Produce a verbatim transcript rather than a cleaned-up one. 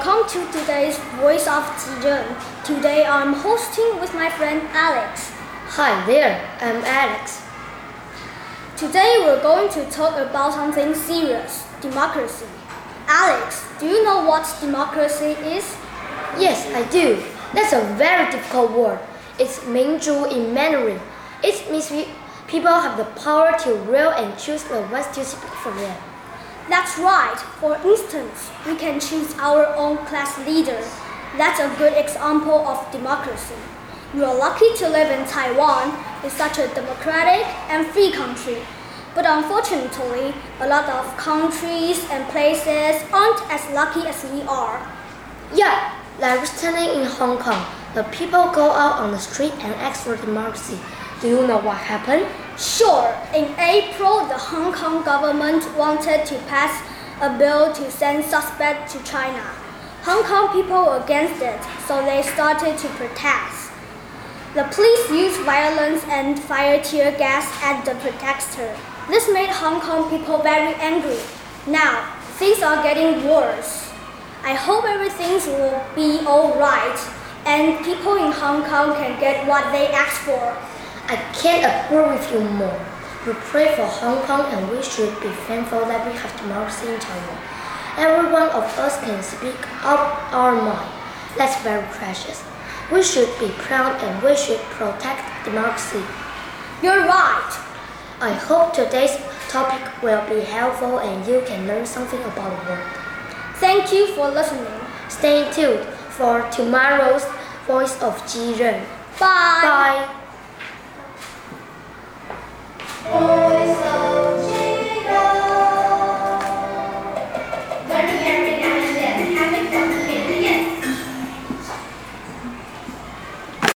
Welcome to today's Voice of Jiren. Today I'm hosting with my friend Alex. Hi there, I'm Alex. Today we're going to talk about something serious, democracy. Alex, do you know what democracy is? Yes, I do. That's a very difficult word. It's 民主 in Mandarin. It means we, people have the power to rule and choose the ones to speak for them. That's right. For instance, we can choose our own class leader. That's a good example of democracy. We are lucky to live in Taiwan. It's such a democratic and free country. But unfortunately, a lot of countries and places aren't as lucky as we are. Yeah, like recently in Hong Kong, the people go out on the street and ask for democracy. Do you know what happened? Sure. In April, the Hong Kong government wanted to pass a bill to send suspects to China. Hong Kong people were against it, so they started to protest. The police used violence and fired tear gas at the protesters. This made Hong Kong people very angry. Now, things are getting worse. I hope everything will be all right, and people in Hong Kong can get what they asked for. I can't agree with you more. We pray for Hong Kong and we should be thankful that we have democracy in Taiwan. Every one of us can speak out our mind. That's very precious. We should be proud and we should protect democracy. You're right. I hope today's topic will be helpful and you can learn something about the world. Thank you for listening. Stay tuned for tomorrow's Voice of Jiren. Bye. Bye.